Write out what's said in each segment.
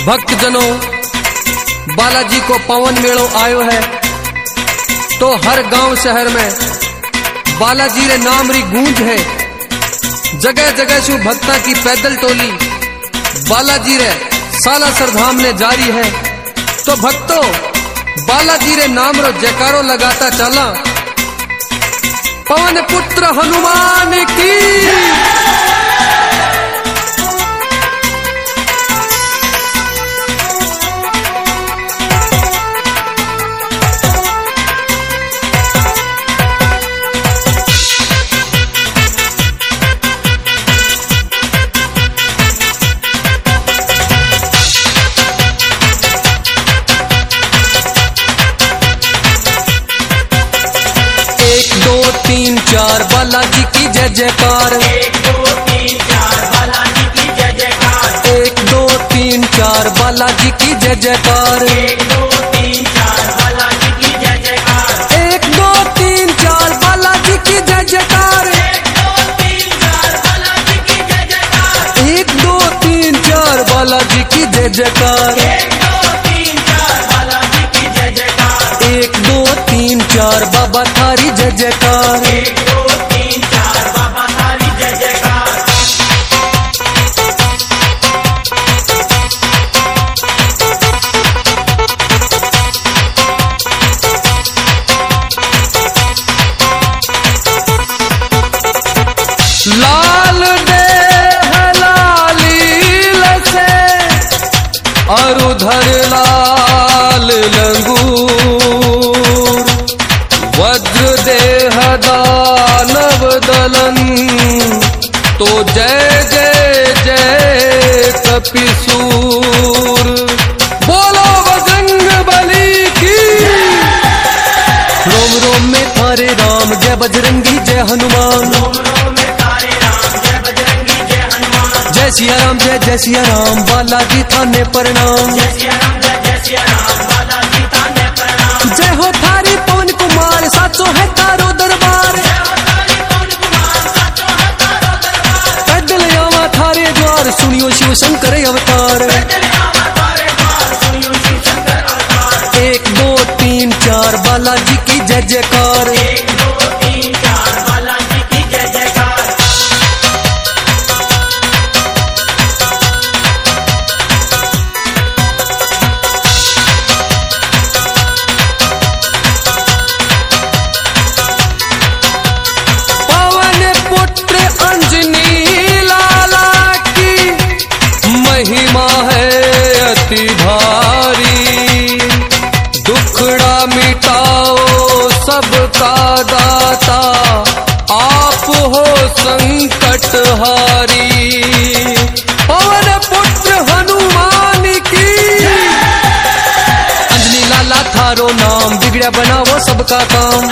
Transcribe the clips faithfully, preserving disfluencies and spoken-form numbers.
भक्तजनों, बालाजी को पावन मेड़ो आयो है तो हर गांव शहर में बालाजी रे नाम री गूंज है। जगह जगह शु भक्ता की पैदल टोली बालाजी रे सालासर धाम ने जारी है। तो भक्तों, बालाजी रे नाम रो जयकारो लगाता चला। पवन पुत्र हनुमान की तीन चार बालाजी की जय जयकार। एक दो तीन चार बालाजी की जय जयकार। एक दो तीन चार बालाजी की जय जयकार। एक दो तीन चार बालाजी की जय जयकार। एक दो तीन चार बालाजी की जय जयकार। एक दो तीन चार बालाजी की जय जयकार। एक दो तीन चार बालाजी की जय जयकार। एक दो तीन चार बालाजी की जय जयकार। एक दो तीन चार बाबा थारी जय जयकार। एक दो तीन चार बाबा थारी जय जयकार। लाल देह लालील से और उधर लाल लंगूर, वज्र देह दानव दलन तो जय जय जय कपिसूर। बोलो बजरंग बली की। रोम रोम में थारे राम जय बजरंगी जय हनुमान। जय सिया राम जय जय सिया राम बालाजी थाने प्रणाम। जय हो थारी पवन कुमार साचो है तारो दरबार। पैदल आवा थारे द्वार सुनियो शिव शंकर अवतार। एक दो तीन चार बालाजी की जय जयकार। एक दो तीन चार बालाजी की जय जयकार। महिमा है अति भारी, दुखड़ा मिटाओ सबका दाता, आप हो संकट हारी। पवन पुत्र हनुमान की। अंजनी लाला थारो नाम बिगड़ा बनाओ सबका काम।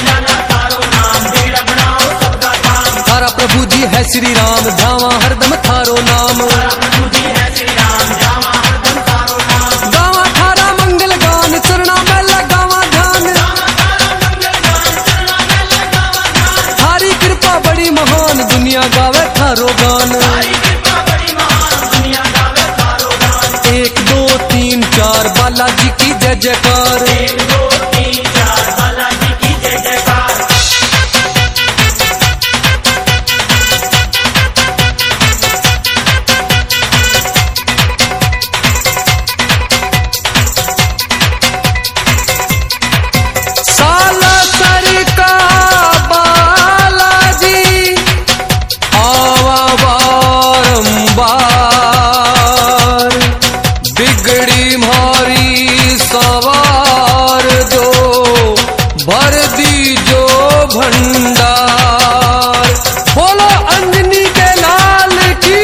थारा प्रभु जी है श्री राम धावा हरदम थारो नाम। गावा थारा मंगल गान चरणा में लगावा ध्यान। थारी कृपा बड़ी महान दुनिया गावे थारो गान। एक दो तीन चार बालाजी की जय जयकार। एक दो तीन चार बालाजी की जय जयकार। बिगड़ी मारी सवार दो, भर दी जो भंडार। बोलो अंजनी के लाल की।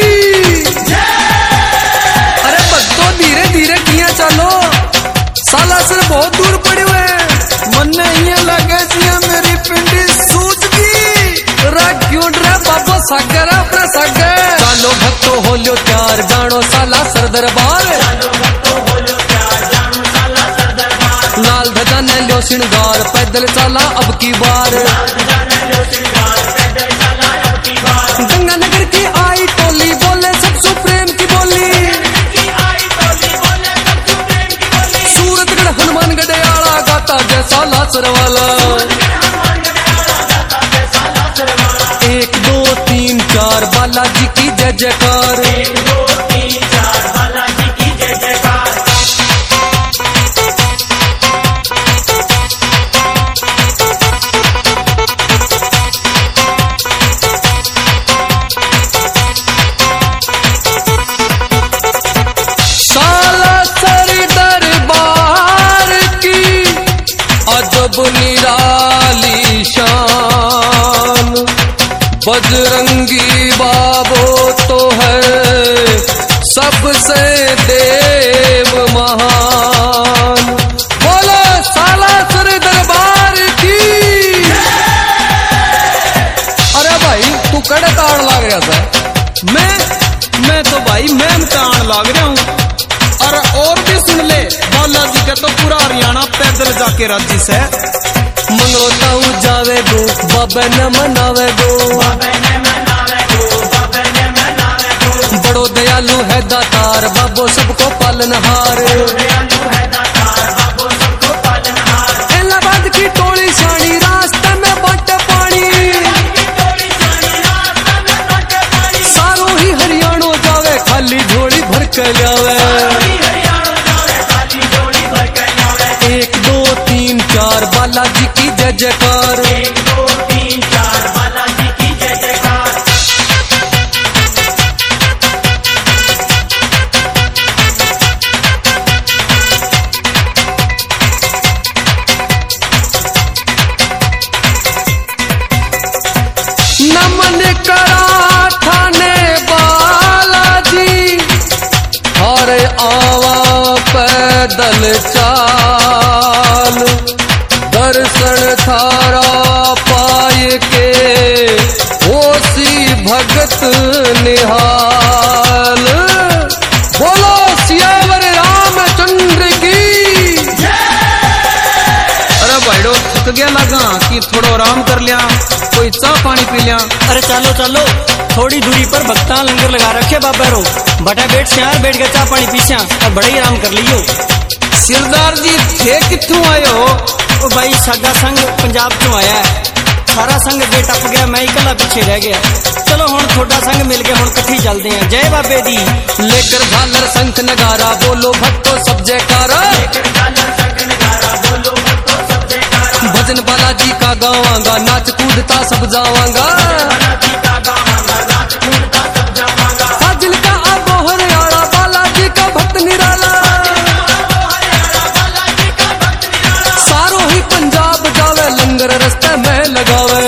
अरे भक्तों धीरे धीरे किया चलो, सालासर बहुत दूर पड़े हुए। मन ये लगे मेरी पिंडी सूझ गई। क्यों ड्रा बाबो सागर अपना सागर। चलो भक्तों हो लो त्यार जानो सालासर दरबार। लाल ध्वजा ने लो श्रृंगार पैदल चला अब की बार। गंगानगर की आई टोली बोले सब सुप्रेम की बोली। सालासर वाला। एक दो तीन चार बालाजी की जय जयकार। एक दो तीन चार बालाजी की जय जयकार। निराली शान बजरंगी बाबो तो है सबसे देव महान। बोलो सालासर दरबार की। अरे भाई तू कड़े ताड़ लाग रहा था। मैं मैं तो भाई मैम ताड़ लाग रहा हूँ। और और भी सुन ले, बालाजी का तो पूरा हरियाणा पैदल जाके राजी से मंगोता हूँ जावे गो बाबा न मनावे गो। बड़ो दयालु है दातार बाबो सबको पालनहार। इलाहाबाद की टोली शानी रास्ते में बाटे पानी। सारो ही हरियाणा जावे खाली झोली भर के जावे। एक दो तीन चार बालाजी की जय जयकार। एक दो तीन चार बालाजी की जय जयकार। नमन करा थाने बालाजी हर आवा पैदल चाल। दर्शन थारा पाए के होसी भगत निहाल। बोलो सियावर रामचंद्र की। अरे भाईडो थक गया लगा कि थोड़ा आराम कर लिया, कोई चाह पानी पी लिया। अरे चलो चलो थोड़ी दूरी पर भक्ता लंगर लगा रखे बाबा रो बटा बैठ शहर बैठ गया चाह पानी पीछा और बड़े ही आराम कर लियो। सिरदार जी थे कितों आए हो? ओ भाई सागा संघ पंजाब चो आया है। सारा संघ अगे टप गया, मैं इकला पीछे रह गया। चलो हुण थोड़ा संघ मिल के हुण कट्ठी चलते हैं। जय बाबे दी। लेकर झालर शंख नगारा बोलो भक्तो सब जयकारा। भजन बालाजी का गावांगा नाच कूदता सब जावांगा। फाजिल का अबोहर आड़ा बालाजी का भक्त निराला। सारो ही पंजाब जावे लंगर रस्ते में लगावे।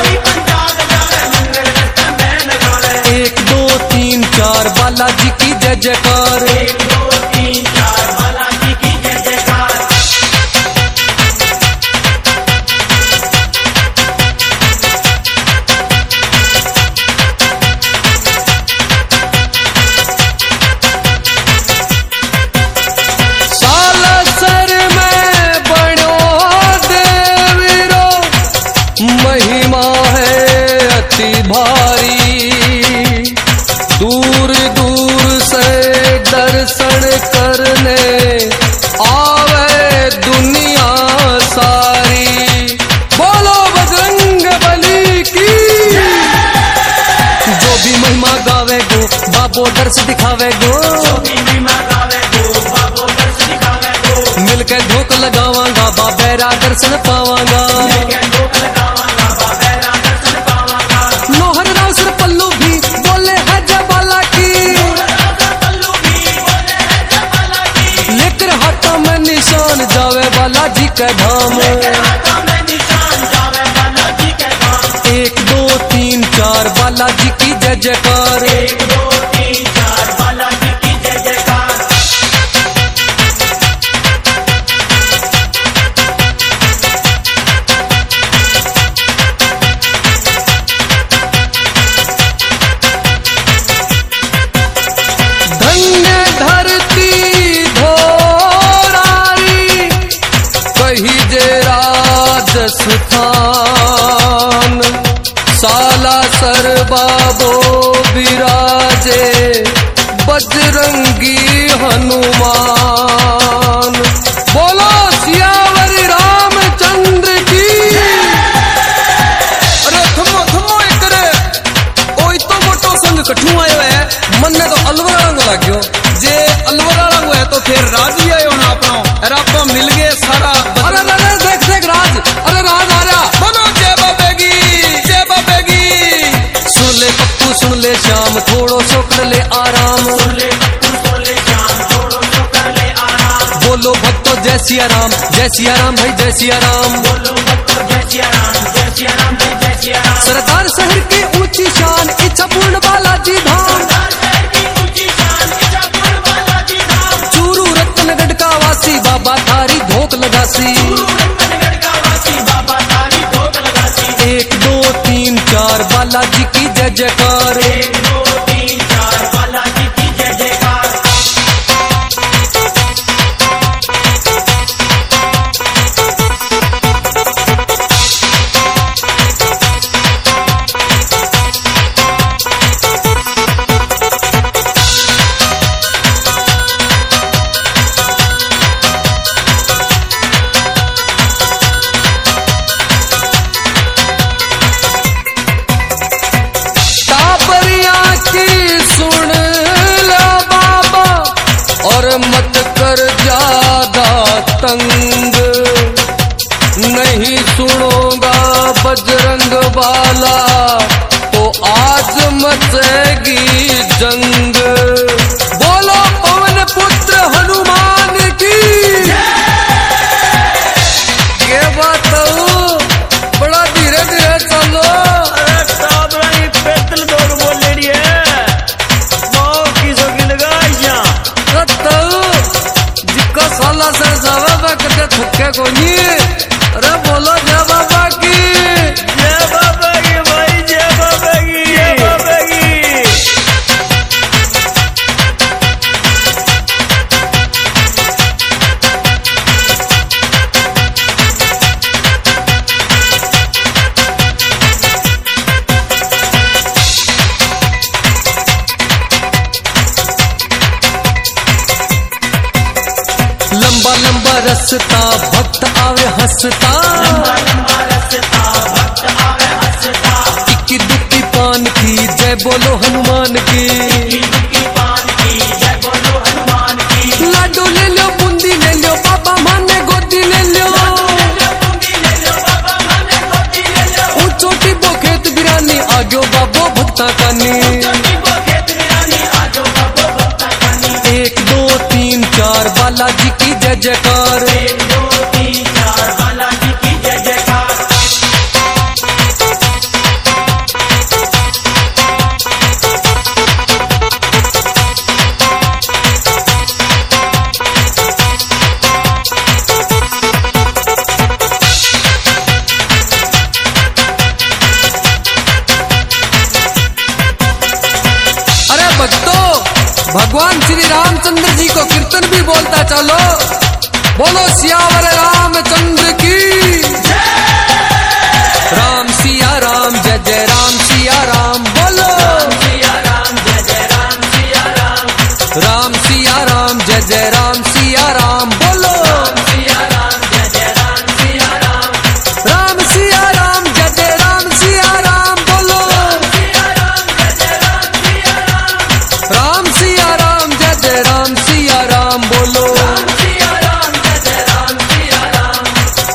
एक दो तीन चार बालाजी की जय जयकार। एक दो तीन चार बालाजी की जय जयकार। सालासर में बड़ो देवीरो महिमा है अति भारी। दूर दूर से दर्शन करने आवे दुनिया सारी। बोलो बजरंग बली की। जो भी महिमा गावे गो बाबो दर्श दिखावे गो। मिलकर धोख लगावांगा बाबेरा दर्शन पावांगा। लोहर राउसर पल्लू भी बोले है जय बाला की। लेकर हाथों में निशान जावे बालाजी के धाम। एक दो तीन चार बालाजी की जय जयकार। एक दो तीन चार बालाजी की जय जयकार। धन्य धरती धोरारी कही जे राजस्थान। सालासर बाबो विराजे बजरंगी हनुमान। बोलो सियावर रामचंद्र कठू आयो है? मन ने तो अलवर रंग लाग्यो। जे अलवर वाला है तो फिर राज ही आयो ना अपनो। अरे आप मिल गए सारा। अरे अरे देख देख राज, अरे राज आ रहा। बोलो जय बाबेगी, जय बाबेगी। सुन ले पप्पू सुन ले श्याम, थोड़ो सो कर ले आराम। बोलो भक्तो जय सिया राम, जय सिया राम भाई जय सिया राम। सरदार शहर की ऊंची शान, इच्छा पूर्ण बालाजी धाम। चूरू रत्नगढ़ का वासी, बाबा थारी धोक लगासी। एक दो तीन चार बालाजी की जय जयकार। मत कर ज्यादा तंग, नहीं सुनोगा बजरंग वाला तो आज मचेगी जंग। बोलो पवन पुत्र हनुमान की। ये बात बड़ा धीरे धीरे चलो। अरे साहब रही पैदल दौड़ बोल रही है। वो किसो की लगा जिक्का साला से जावा करके थके को नहीं। अरे बोलो जय बाबा की, जय बाबा की भाई, जय बाबा की, जय बाबा की। लंबा लंबा रस्ता भक्त आवे हंसता। इक्की दुक्की पान की जय बोलो हनुमान की। लाडू ले लो बूंदी ले लो, बाबा माने गोदी ले लो। ऊंचोटी बोखेत बिरानी आग्यो बाबो भक्ता कानी। एक दो तीन चार बालाजी की जय जयकार। अरे भक्तों, भगवान श्री रामचंद्र जी को कीर्तन भी बोलता चलो। बोलो सियावर रामचंद्र की। राम सिया राम जय जय राम सिया राम। बोलो राम सिया राम जय जय राम सिया राम। राम सिया राम जय जय राम सिया राम। बोलो राम सिया राम जय जय राम सिया राम। राम सिया राम जय जय राम सिया राम। बोलो राम सिया राम जय जय राम सिया राम। राम सिया राम जय जय राम सिया राम। बोलो राम सिया राम जय जय राम सिया राम।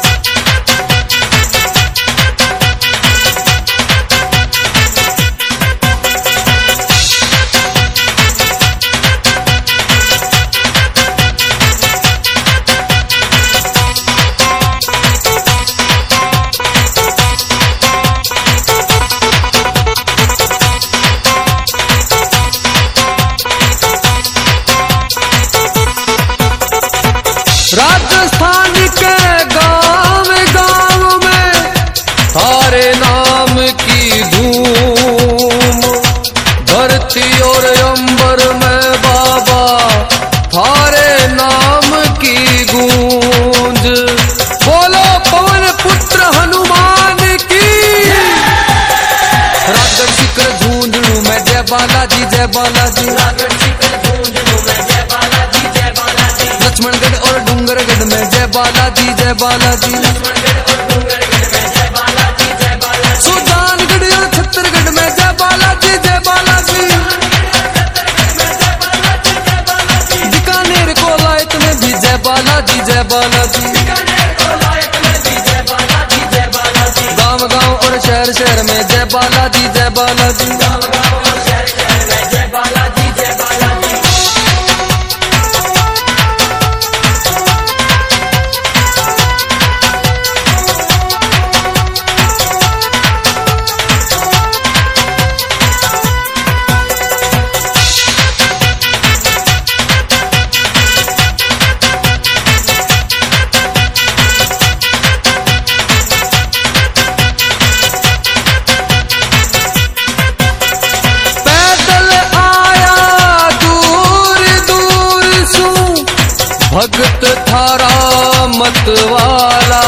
राजस्थान के गांव गांव में थारे नाम की धूम। धरती और अंबर में बाबा थारे नाम की गूंज। बोलो पवन पुत्र हनुमान की। राजगढ़ शिखर झुंझुनू में जय बालाजी जय बालाजी। लक्ष्मणगढ़ और डूंगरगढ़ में जय बालाजी जय बालाजी। सुजानगढ़ और छत्तरगढ़ में जय बालाजी जय बालाजी। बालाजी। गांव गांव और शहर शहर में जय बालाजी जय बालाजी। भगत थारा मतवाला,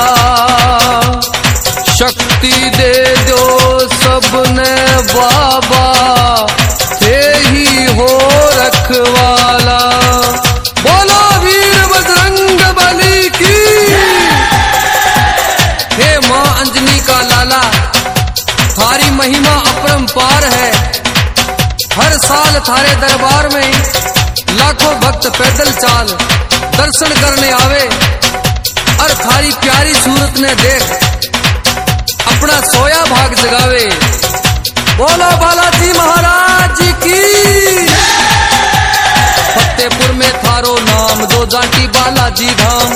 शक्ति दे दो सबने बाबा, थे ही हो रखवाला। बोलो वीर बजरंग बली की। हे मां अंजनी का लाला, थारी महिमा अपरंपार है। हर साल थारे दरबार में लाखों भक्त पैदल चाल दर्शन करने आवे और थारी प्यारी सूरत ने देख अपना सोया भाग जगावे। बोलो बालाजी महाराज की। फतेहपुर में थारो नाम दो जाटी बालाजी धाम,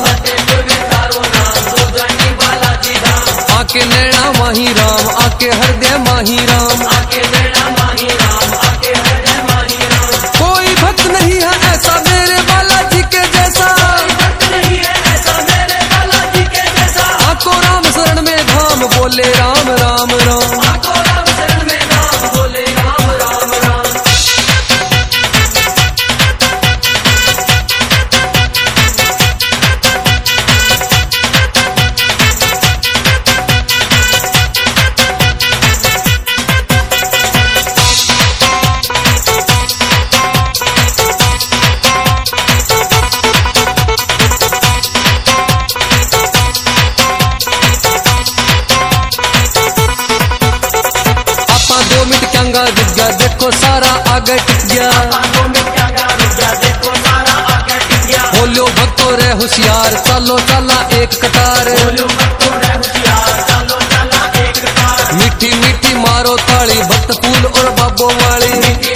आके नैना माही राम, आके हृदय माही राम। कोई भक्त नहीं है ऐसा मेरे बालाजी के जैसा, आको राम शरण में धाम बोले राम राम राम। देखो सारा आगे टिक गया, बोलो भक्तों रे होशियार, चलो चला एक कतार। मीठी मीठी मारो ताली भक्त फूल और बाबो वाली,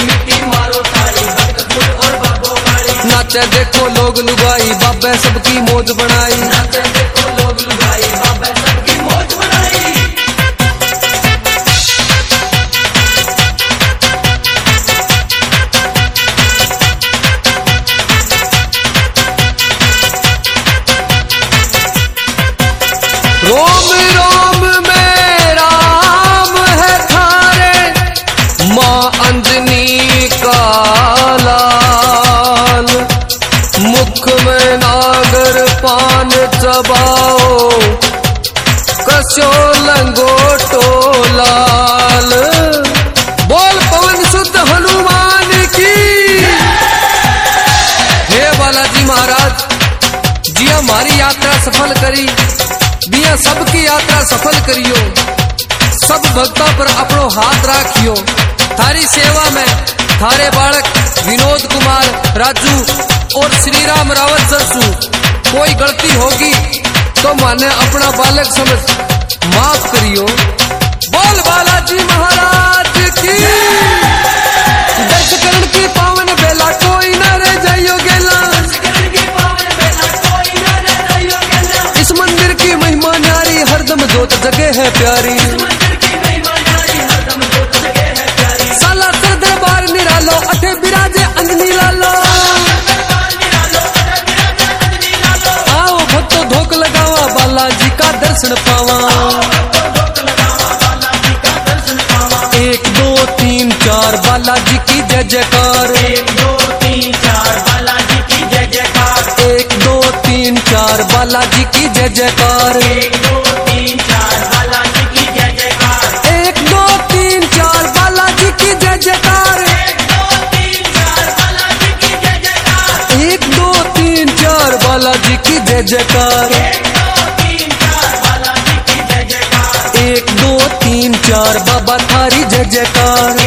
नाचे देखो लोग लुगाई, बाबे सबकी मौज बनाई। रोम रोम में राम है थारे, मां अंजनी का लाल। मुख में नागर पान चबाओ, कसो लंगोटो लाल। बोल पवन सुत हनुमान की। हे बालाजी महाराज जी, हमारी यात्रा सफल करी दिया, सबकी यात्रा सफल करियो। सब भक्तों पर अपनो हाथ राखियो। थारी सेवा में थारे बालक विनोद कुमार राजू और श्री राम रावत सरसू, कोई गलती होगी तो माने अपना बालक समझ माफ करियो। बोल बालाजी महाराज की। दर्शकरण की पावन बेला कोई न रह जाइयो गेला, इस मंदिर की महिमा न्यारी, हरदम जोत जगह है प्यारी। साला सर दरबार निरालो, अठे बिराजे अंजनी लालो। आओ भक्तों धोख लगावा, बालाजी का दर्शन पावा। एक दो तीन चार बालाजी की जय जयकार। एक दो तीन चार बालाजी की जय जयकार। एक दो तीन चार बालाजी की जय जयकार। एक दो तीन चार बालाजी की जय जयकार। एक दो तीन चार बालाजी की जय जयकार। एक दो तीन चार बालाजी की जय जयकार। एक दो तीन चार बाबा थारी जय जयकार।